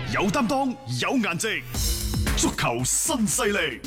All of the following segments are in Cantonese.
有擔當，有顏值，足球新勢力。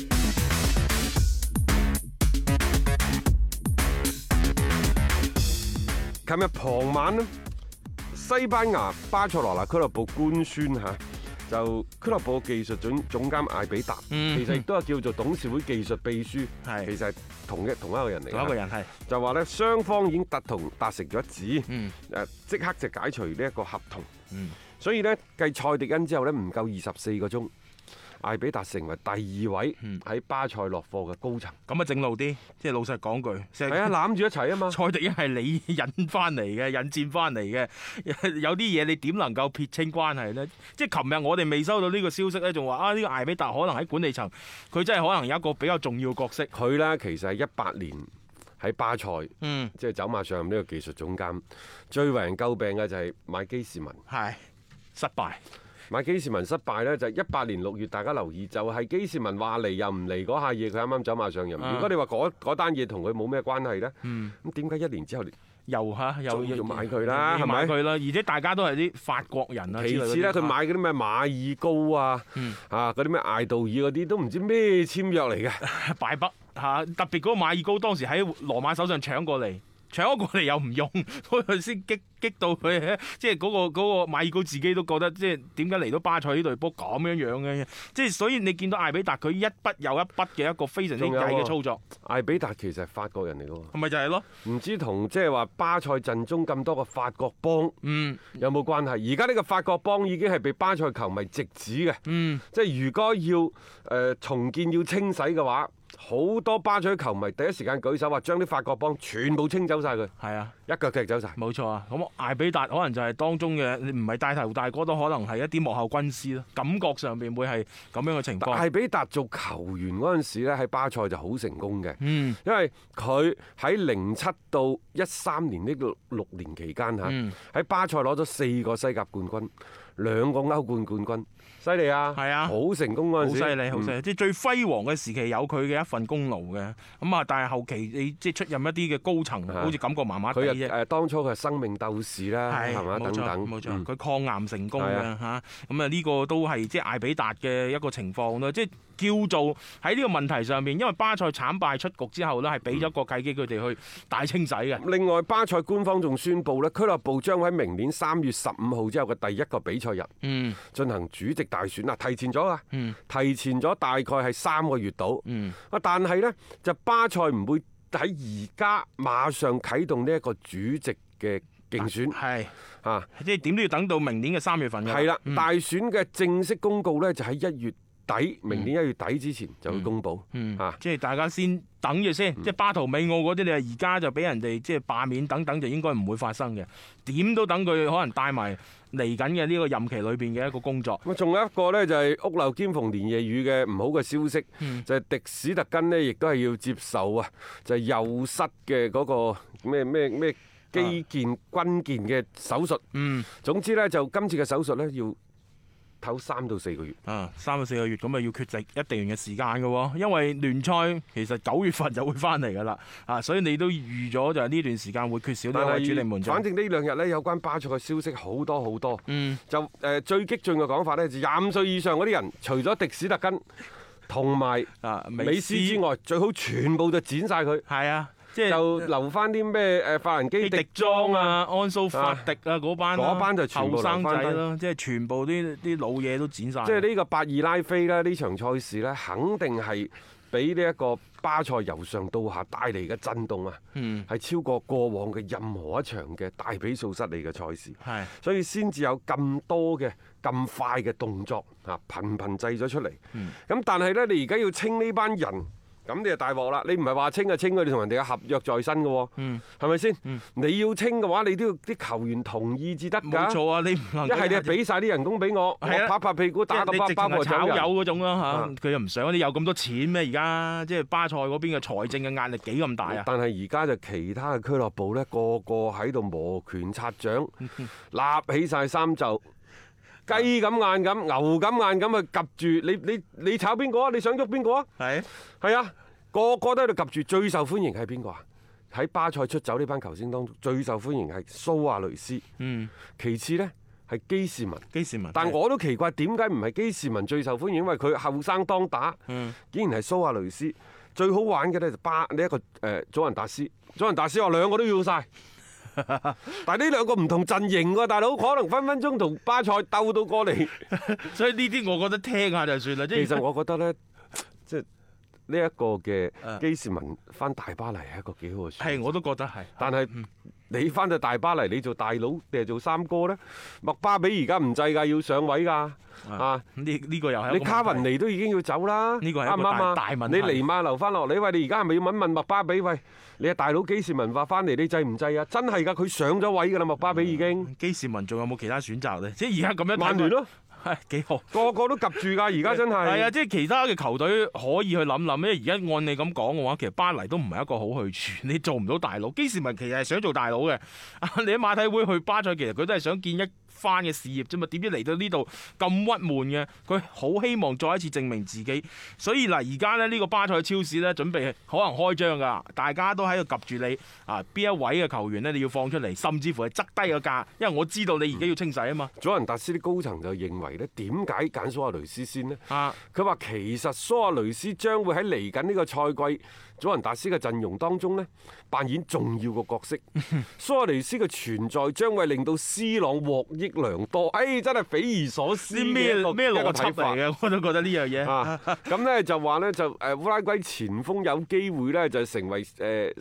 琴日傍晚咧，西班牙巴塞羅那俱樂部官宣就俱樂部技術總監艾比達，其實亦都係叫做董事會技術秘書，其實係同一個人嚟。 同一個人係就話咧，雙方已經達成咗一致，即刻就解除呢一個合同。所以呢，繼蔡迪恩之後呢，唔夠24個鐘，艾比達成為第2位喺巴塞落課嘅高層。 咁啊，正路啲，即係老實講句， 係啊，攬住一齊啊嘛。 蔡迪恩係你引翻嚟嘅，引薦翻嚟嘅，有啲嘢你點能夠撇清關係呢？即係琴日我哋未收到呢個消息呢，仲話呢個艾比達可能喺管理層，佢真係可能有一個比較重要嘅角色。 佢呢，其實係18年喺巴塞，即係走馬上任呢個技術總監，最為人詬病嘅就係買基士文。 係失敗。 買基士文失敗呢，就係18年6月，大家留意就係基士文話嚟又唔嚟嗰下嘢，佢啱啱走馬上任。如果你話嗰單嘢同佢冇咩關係呢，咁點解1年之後又要買佢啦？係咪買佢啦？而且大家都係啲法國人啊。其次呢，佢買嗰啲咩馬爾高啊，嗰啲咩艾杜爾嗰啲都唔知咩簽約嚟嘅， 敗筆嚇。特別嗰個馬爾高當時喺羅馬手上搶過嚟又唔用，嗰陣先激到佢，即係嗰個馬爾高自己都覺得，即係點解嚟到巴塞呢隊波咁樣嘅？即係所以你見到艾比達佢一筆又一筆嘅一個非常之曳嘅操作。 艾比達其實係法國人嚟嘅喎， 係咪就係咯？唔知同即係話巴塞陣中咁多個法國幫，有冇關係？而家呢個法國幫已經係被巴塞球迷直指嘅，即係如果要重建要清洗嘅話，好多巴塞球迷第一時間舉手話將啲法國幫全部清走晒佢。 係啊， 一腳踢走晒。 冇錯啊，咁艾比達可能就係當中嘅，你唔係帶頭大哥都可能係一啲幕後軍師咯，感覺上邊會係咁樣嘅情況。 艾比達做球員嗰陣時咧，喺巴塞就好成功嘅，因為佢喺07到13年呢個6年期間喺巴塞攞咗4個西甲冠軍，2個歐冠冠軍，犀利啊！係啊，好成功嗰陣時， 好犀利，好犀利，即係最輝煌嘅時期有佢嘅一份功勞嘅。咁啊，但係後期你即係出任一啲嘅高層，好似感覺麻麻地啫。 佢當初佢係生命鬥士啦，係嘛等等， 冇錯，佢抗癌成功嘅嚇。咁啊，呢個都係即係艾比達嘅一個情況咯，即係叫做喺呢個問題上面，因為巴塞慘敗出局之後呢，係俾咗個契機佢哋去大清洗嘅。 另外，巴塞官方仲宣布呢，俱樂部將喺明年3月15號之後嘅第一個比賽日進行主席大選啊，提前咗啊，提前咗大概係3個月到。但係呢，就巴塞唔會喺而家馬上啟動呢一個主席嘅競選， 即係點都要等到明年嘅3月份嘅。 係啦，大選嘅正式公告呢，就喺1月底，明年1月底之前就會公佈。 即係大家先等住先，即係巴圖美奧嗰啲，你話而家就俾人哋即係罷免等等，就應該唔會發生嘅。點都等佢可能帶埋嚟緊嘅呢個任期裏邊嘅一個工作。 咁仲有一個呢，就係屋漏兼逢連夜雨嘅唔好嘅消息，就係迪史特根呢，亦都係要接受就係右膝嘅嗰個咩肌腱軍腱嘅手術。總之呢，就今次嘅手術呢，要唞3到4個月。 3到4個月咁啊，要缺席一定嘅時間嘅喎，因為聯賽其實9月份就會翻嚟㗎啦。所以你都預咗就係呢段時間會缺少呢位主力門將。 反正呢2日呢，有關巴塞嘅消息好多好多。就最激進嘅講法呢，就25歲以上嗰啲人，除咗迪史特根同埋美斯之外，最好全部就剪晒佢。 係啊。即係就留翻啲咩法蘭基迪莊啊、 安蘇法迪啊嗰班就全部後生仔留咯，即係全部啲老嘢都剪晒。 即係呢個巴爾拉菲咧，呢場賽事咧，肯定係俾呢一個巴塞由上到下帶嚟嘅震動啊，係超過過往嘅任何一場嘅大比數失利嘅賽事。所以先至有咁多嘅咁快嘅動作頻頻製咗出嚟。咁但係咧，你而家要清呢班人。咁你就大鑊啦！你唔係話清就清佢，你同人哋嘅合約在身嘅喎，係咪先？你要清嘅話，你都要啲球員同意至得㗎。 冇錯啊！你唔能一係你係俾晒啲人工俾我，我拍屁股打個包括炒魷嗰種啦嚇，佢又唔想你有咁多錢咩？而家即係巴塞嗰邊嘅財政嘅壓力幾咁大啊！ 但係而家就其他嘅俱樂部咧，個個喺度摩拳擦掌，立起晒衫袖。雞咁眼咁，牛咁眼咁去及住你炒邊個啊？你想喐邊個啊？係啊，個個都喺度及住。最受歡迎係邊個啊？喺巴塞出走呢班球星當中，最受歡迎係蘇亞雷斯。其次呢， 係基士文。 基士文， 但我都奇怪點解唔係基士文最受歡迎，因為佢後生當打，竟然係蘇亞雷斯。最好玩嘅咧就呢一個祖雲達斯。祖雲達斯話兩個都要晒。但係呢兩個唔同陣營喎，大佬可能分分鐘同巴塞鬥到過嚟， 所以呢啲我覺得聽下就算啦。 其實我覺得咧，即係呢一個嘅基士文翻大巴黎係一個幾好嘅選擇。 係，我都覺得係。 但係你翻到大巴黎，你做大佬定係做三哥咧？麥巴比而家唔制㗎，要上位㗎。啊！ 呢個又係你卡雲尼都已經要走啦， 呢個係一個大問題。 你尼馬留翻落嚟，喂！你而家係咪要問麥巴比？喂！你係大佬基士文話翻嚟，你制唔制啊？真係㗎，佢上咗位㗎啦，麥巴比已經。 基士文仲有冇其他選擇咧？即係而家咁樣。 曼聯咯。 係幾好， 個個都及住㗎，而家真係。 係啊，即係其他嘅球隊可以去諗諗，因為而家按你咁講嘅話，其實巴黎都唔係一個好去處，你做唔到大佬。基士文其實係想做大佬嘅，你喺馬體會去巴塞，其實佢都係想建一番嘅事業啫嘛。點知嚟到呢度咁鬱悶嘅，佢好希望再一次證明自己。所以嗱，而家咧呢個巴塞超市咧準備可能開張㗎，大家都喺度及住你啊，邊一位嘅球員咧你要放出嚟，甚至乎係側低個價，因為我知道你而家要清洗啊嘛。 祖雲達斯啲高層就認為咧，點解揀蘇亞雷斯先呢？ 啊， 佢話其實蘇亞雷斯將會喺嚟緊呢個賽季祖雲達斯嘅陣容當中呢，扮演重要嘅角色。蘇亞雷斯嘅存在將會令到 C 朗獲益良多。哎，真係匪夷所思嘅一個咩邏輯睇法嚟嘅，我都覺得呢樣嘢。 咁呢就話呢，就烏拉圭前鋒有機會呢，就成為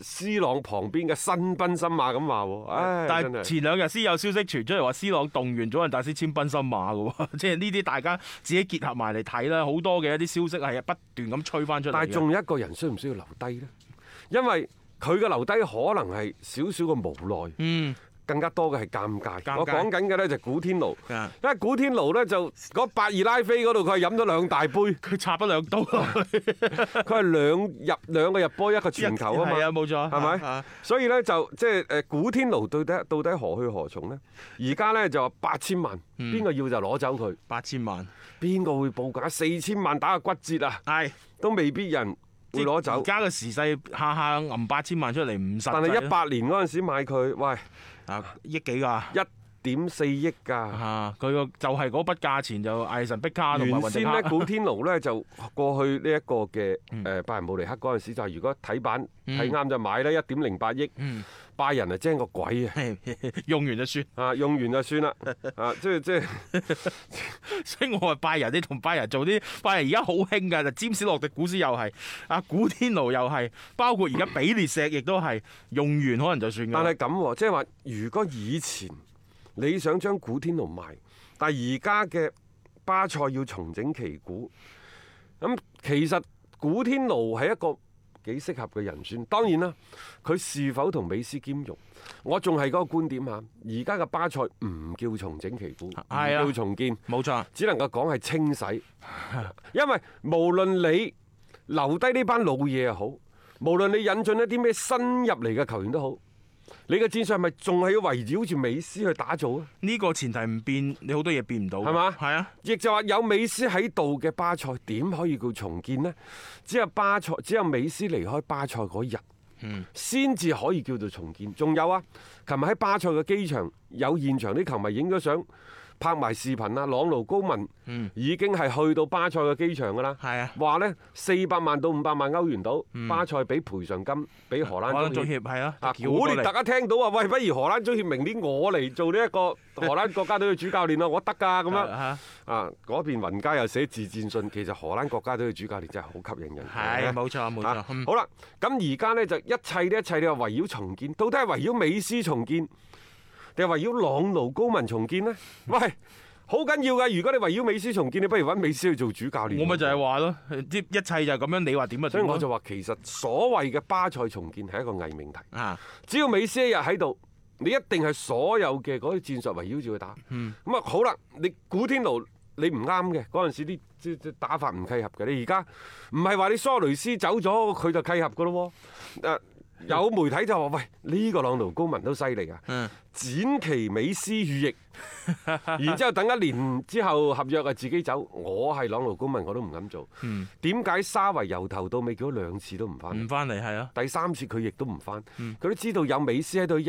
C 朗旁邊嘅新賓森馬咁話喎。唉， 但係前兩日先有消息傳出嚟話 C 朗動員祖雲達斯簽賓森馬嘅喎，即係呢啲大家自己結合埋嚟睇啦。好多嘅一啲消息係不斷咁吹翻出嚟。 但係仲有一個人需唔需要留低呢？因為佢嘅留低可能係少少嘅無奈，更加多嘅係尷尬。我講緊嘅呢就古天奴，因為古天奴呢就嗰八二拉菲嗰度佢係飲咗兩大杯，佢插咗兩刀落去， 佢係兩個入波一個傳球啊嘛， 係啊冇錯， 係咪？所以呢，就即係古天奴到底何去何從呢？而家呢就話8000萬，邊個要就攞走佢 ？8000萬， 邊個會報價4000萬打個骨折啊？係都未必人會攞走。 而家嘅時勢下下揞8000萬出嚟唔實際。 但係18年嗰陣時買佢，喂億幾㗎 ？1.4億㗎。 佢個就係嗰筆價錢就艾神碧卡同埋原先呢，古天奴呢就過去呢一個嘅拜仁慕尼黑嗰陣時就係如果睇板睇啱就買啦，1.08億。拜仁係精個鬼啊！ 用完就算用完就算啦即係， 所以我話拜仁，你同拜仁做啲拜仁而家好興㗎，就詹士洛迪古斯又係古天奴又係，包括而家比列石亦都係用完可能就算㗎。 但係咁即係話，如果以前你想將古天奴賣，但係而家嘅巴塞要重整旗鼓，咁其實古天奴係一個幾適合嘅人選，當然啦，佢是否同美斯兼容，我仲係嗰個觀點嚇。而家嘅巴塞唔叫重整旗鼓，唔叫重建， 冇錯， 只能夠講係清洗。因為無論你留低呢班老嘢又好，無論你引進一啲咩新入嚟嘅球員都好，你嘅戰術係咪仲係要圍繞住美斯去打造啊？ 呢個前提唔變，你好多嘢變唔到， 係嘛？ 係啊， 亦就話有美斯喺度嘅巴塞點可以叫重建呢？只有美斯離開巴塞嗰日，先至可以叫做重建。仲有啊，琴日喺巴塞嘅機場有現場啲球迷影咗相。拍埋視頻啊！朗奴高文已經係去到巴塞嘅機場㗎啦。係啊，話呢400萬到500萬歐元到，巴塞俾賠償金俾荷蘭足協係啊。古列特一聽到話，喂，不如荷蘭足協明年我嚟做呢一個荷蘭國家隊嘅主教練啊，我得㗎咁樣嗰邊雲加又寫自薦信，其實荷蘭國家隊嘅主教練真係好吸引人。 係冇錯冇錯。 好啦，咁而家呢，就一切你話圍繞重建，到底係圍繞美斯重建？定係圍繞朗奴高文重建呢？喂，好緊要㗎！如果你圍繞美斯重建，你不如揾美斯去做主教練。 我咪就係話咯，一切就係咁樣。你話點啊？ 所以我就話其實所謂嘅巴塞重建係一個偽命題。只要美斯一日喺度，你一定係所有嘅嗰啲戰術圍繞住佢打。咁啊好啦，你古天奴你唔啱嘅嗰陣時啲打法唔契合嘅。你而家唔係話你蘇雷斯走咗佢就契合㗎咯喎。有媒體就話：喂，呢個朗奴高文都犀利啊！展其美斯羽翼，然之後等1年之後合約啊自己走。我係朗奴高文我都唔敢做。點解沙維由頭到尾叫咗2次都唔翻？唔翻嚟係啊！第3次佢亦都唔翻。佢都知道有美斯喺度一日，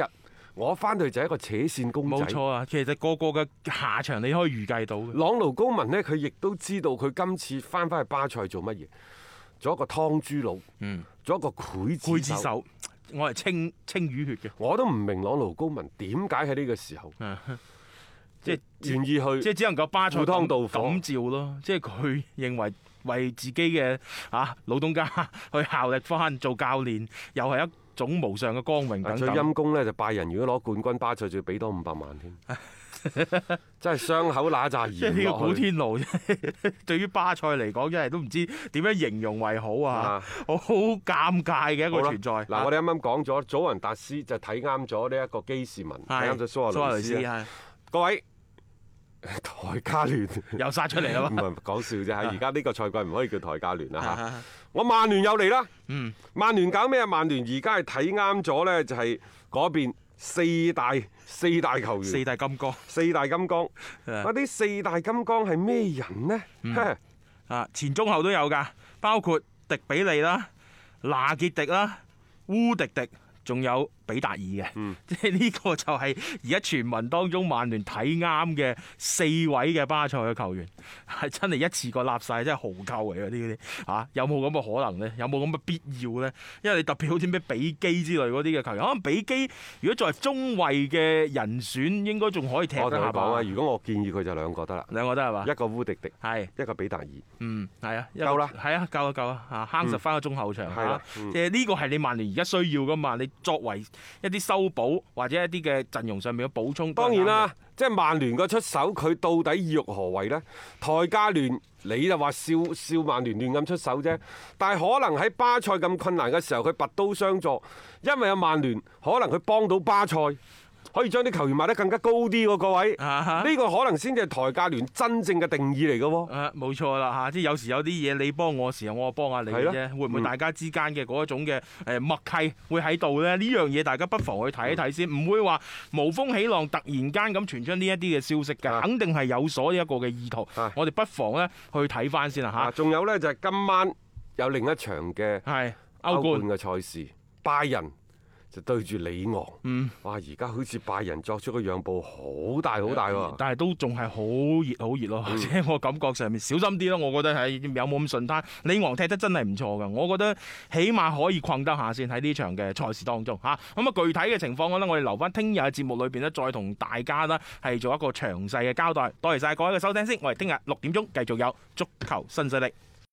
我翻去就係一個扯線公仔。 冇錯啊，其實個個嘅下場你可以預計到嘅。 朗奴高文呢，佢亦都知道佢今次翻去巴塞做乜嘢，做一個劏豬佬，做一個劊子手。 我係清魚血嘅。 我都唔明朗奴高文點解喺呢個時候， 即係願意去， 即係只能夠巴塞赴湯蹈火感召咯。即係佢認為自己嘅老東家去效力翻做教練，又係一種無上嘅光榮等等。 最陰功呢，就拜仁如果攞冠軍，巴塞就要俾多500萬添。真係傷口揦扎鹽。 即係呢個古天奴，對於巴塞嚟講，真係都唔知點樣形容為好啊！好尷尬嘅一個存在。 嗱，我哋啱啱講咗，祖雲達斯就睇啱咗呢一個基士文，睇啱咗蘇亞雷斯。各位，台加聯又殺出嚟啦！ 唔係講笑啫嚇，而家呢個賽季唔可以叫台加聯啦嚇。我曼聯又嚟啦。曼聯搞咩啊？曼聯而家係睇啱咗咧，就係嗰邊四大球員， 四大金剛。 嗰啲四大金剛係咩人呢？ 前中後都有㗎，包括迪比利啦、拿傑迪啦、烏迪迪，仲有比達爾嘅。即係呢個就係而家傳聞當中曼聯睇啱嘅4位嘅巴塞嘅球員，係真係一次過立晒，真係豪購嚟嗰啲有冇咁嘅可能呢？有冇咁嘅必要呢？因為你特別好似咩比基之類嗰啲嘅球員，可能比基如果作為中衛嘅人選，應該仲可以踢得下。 我同你講啊，如果我建議佢就2個得啦， 兩個得係嘛？ 一個烏迪迪， 係一個比達爾。 係啊， 夠啦， 係啊，夠啊，慳實翻個中後場嚇。即係呢個係你曼聯而家需要噶嘛？你作為一啲修補或者一啲嘅陣容上面嘅補充。 當然啦，即係曼聯個出手，佢到底意欲何為呢？台加聯你就話笑曼聯亂咁出手啫，但係可能喺巴塞咁困難嘅時候，佢拔刀相助，因為有曼聯可能佢幫到巴塞。可以將啲球員賣得更加高啲喎，各位。呢個可能先至係台價聯真正嘅定義嚟嘅喎。 冇錯啦嚇，即係有時有啲嘢你幫我時候，我幫下你嘅啫。會唔會大家之間嘅嗰一種嘅默契會喺度咧？呢樣嘢大家不妨去睇一睇先，唔會話無風起浪，突然間咁傳出呢一啲嘅消息㗎，肯定係有所一個嘅意圖。我哋不妨咧去睇翻先啦嚇。 仲有咧就係今晚有另一場嘅歐冠嘅賽事，拜仁就對住里昂，哇！而家好似拜仁作出個讓步好大喎， 但係都仲係好熱咯，即係我感覺上面小心啲咯。我覺得係有冇咁順攤，里昂踢得真係唔錯㗎，我覺得起碼可以困得下先喺呢場嘅賽事當中嚇。咁啊，具體嘅情況我哋留翻聽日嘅節目裏邊咧，再同大家呢係做一個詳細嘅交代。多謝晒各位嘅收聽先，我哋聽日6點鐘繼續有足球新勢力。